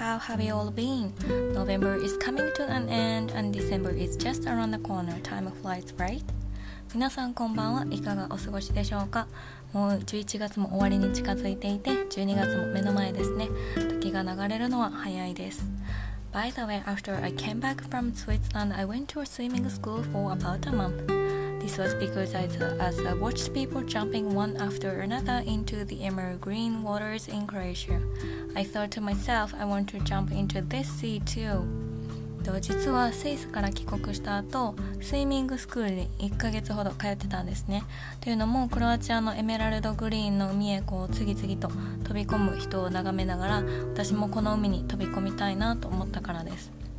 how have you all been? November is coming to an end and December is just around the corner. Time flies, right? 皆さんこんばんは。いかがお過ごしでしょうか。もう11月も終わりに近づいていて、12月も目の前ですね。時が流れるのは早いです。By the way, after I came back from Switzerland, I went to a swimming school for about a month.This was because as I watched people jumping one after another into the emerald green waters in Croatia, I thought to myself, I want to jump into this sea too. 実はスイスから帰国した後、スイミングスクールに1ヶ月ほど通ってたんですね。というのも、クロアチアのエメラルドグリーンの海へ次々と飛び込む人を眺めながら、私もこの海に飛び込みたいなと思ったからです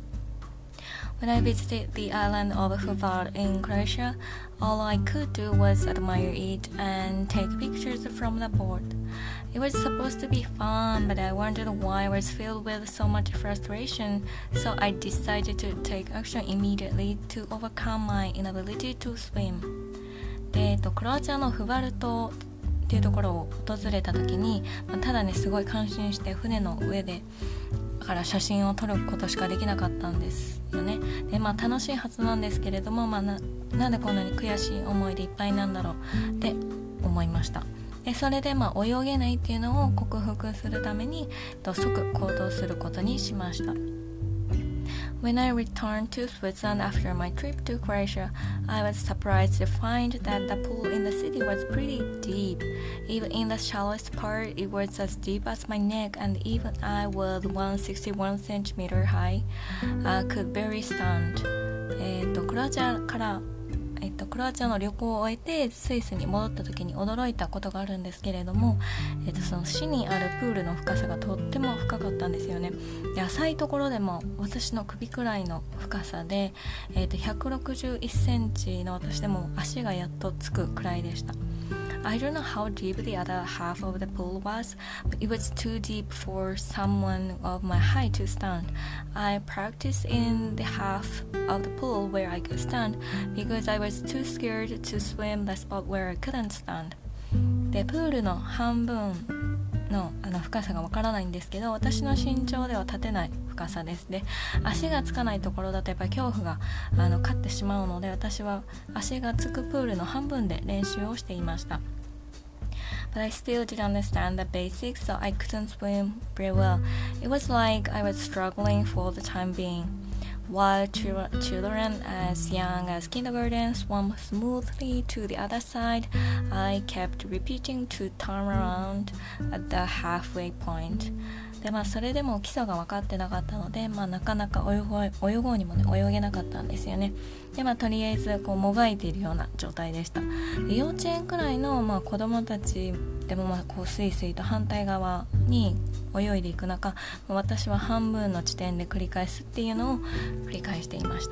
。When I visited the island of Hvar in Croatia, all I could do was admire it and take pictures from the board. It was supposed to be fun, but I wondered why I was filled with so much frustration, so I decided to take action immediately to overcome my inability to swim. クロアチアのフバル島っていうところを訪れた時に、ただねすごい感心して船の上でから写真を撮ることしかできなかったんですよね。で楽しいはずなんですけれども、なんでこんなに悔しい思いでいっぱいなんだろうって思いました。でそれで泳げないっていうのを克服するために即行動することにしました。When I returned to Switzerland after my trip to Croatia, I was surprised to find that the pool in the city was pretty deep. Even in the shallowest part, it was as deep as my neck, and even I was 161 centimeter high, could barely stand. クロアチアの旅行を終えてスイスに戻った時に驚いたことがあるんですけれども、その市にあるプールの深さがとっても深かったんですよね。で浅いところでも私の首くらいの深さで、161センチの私でも足がやっとつくくらいでした。I don't know how deep the other half of the pool was, but it was too deep for someone of my height to stand. I practiced in the half of the pool where I could stand because I was too scared to swim the spot where I couldn't stand. で、プールの半分の深さがわからないんですけど、私の身長では立てない深さです。で、足がつかないところだとやっぱり恐怖が勝ってしまうので、私は足がつくプールの半分で練習をしていました。But I still didn't understand the basics, so I couldn't swim very well. It was like I was struggling for the time being. While children as young as kindergarten swam smoothly to the other side, I kept repeating to turn around at the halfway point. でそれでも基礎が分かってなかったので、なかなか泳ごうにもね泳げなかったんですよね。でとりあえずもがいているような状態でした。で幼稚園くらいの子供たちでもスイスイと反対側に泳いでいく中、私は半分の地点で繰り返すっていうのを繰り返していました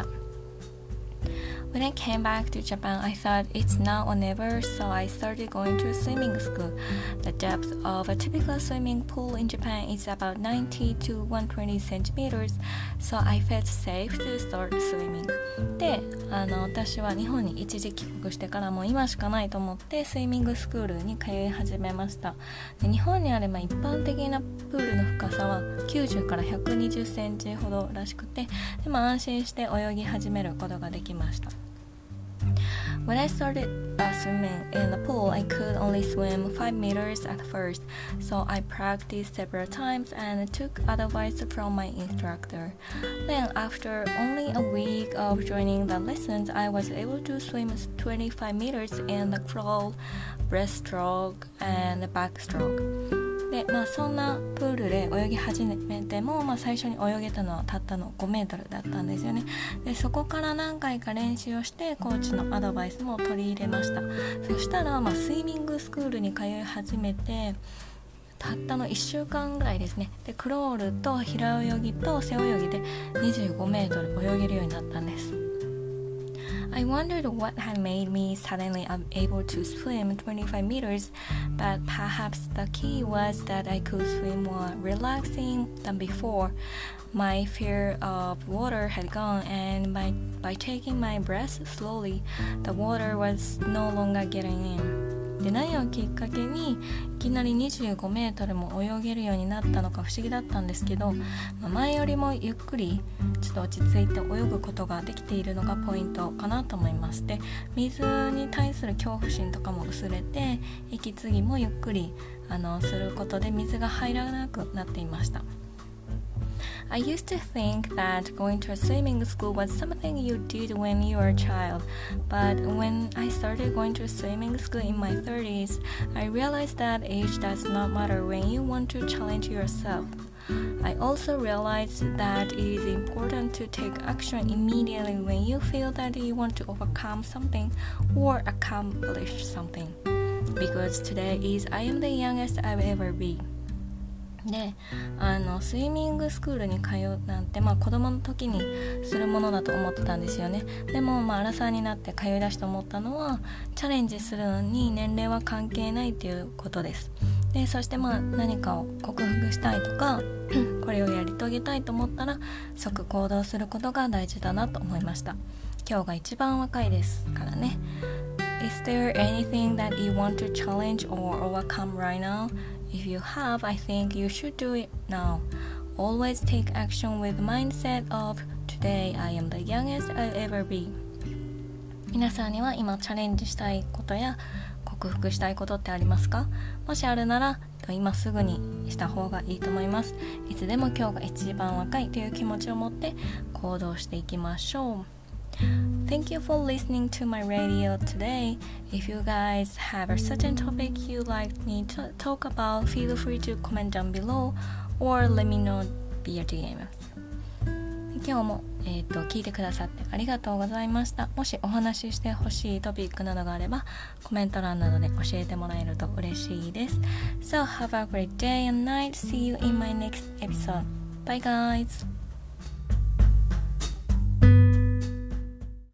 。When I came back to Japan, I thought it's now or never, so I started going to a swimming school. The depth of a typical swimming pool in Japan is about 90 to 120 centimeters, so I felt safe to start swimming. で、私は日本に一時帰国してからもう今しかないと思ってスイミングスクールに通い始めました。で日本にある一般的なプールの深さは90から120センチほどらしくて、で安心して泳ぎ始めることができました。When I started swimming in the pool, I could only swim 5 meters at first, so I practiced several times and took advice from my instructor. Then, after only a week of joining the lessons, I was able to swim 25 meters in the crawl, breaststroke, and backstroke.でそんなプールで泳ぎ始めても、最初に泳げたのはたったの5メートルだったんですよね。でそこから何回か練習をしてコーチのアドバイスも取り入れました。そしたら、スイミングスクールに通い始めてたったの1週間ぐらいですね。でクロールと平泳ぎと背泳ぎで25メートル泳げるようになったんです。I wondered what had made me suddenly able to swim 25 meters, but perhaps the key was that I could swim more relaxing than before. My fear of water had gone, and by taking my breath slowly, the water was no longer getting in. で、何をきっかけにいきなり25メートルも泳げるようになったのか不思議だったんですけど、前よりもゆっくりちょっと落ち着いて泳ぐことができているのがポイントかなと思います。で、水に対する恐怖心とかも薄れて、息継ぎもゆっくりすることで水が入らなくなっていました。I used to think that going to a swimming school was something you did when you were a child, but when I started going to a swimming school in my 30s, I realized that age does not matter when you want to challenge yourself. I also realized that it is important to take action immediately when you feel that you want to overcome something or accomplish something. Because today is I am the youngest I'll ever be.で、スイミングスクールに通うなんて、子供の時にするものだと思ってたんですよね。でも、アラサーになって通い出して思ったのは、チャレンジするのに年齢は関係ないっていうことです。で、そして何かを克服したいとかこれをやり遂げたいと思ったら即行動することが大事だなと思いました。今日が一番若いですからね。Is there anything that you want to challenge or overcome right now?If you have, I think you should do it now. Always take action with the mindset of today I am the youngest I'll ever be. 皆さんには今チャレンジしたいことや克服したいことってありますか？もしあるなら今すぐにした方がいいと思います。いつでも今日が一番若いという気持ちを持って行動していきましょう。Thank you for listening to my radio today. If you guys have a certain topic you'd like me to talk about, feel free to comment down below or let me know via DM. 今日も、聞いてくださってありがとうございました。もしお話ししてほしいトピックなどがあればコメント欄などで教えてもらえると嬉しいです。So have a great day and night. See you in my next episode. Bye guys!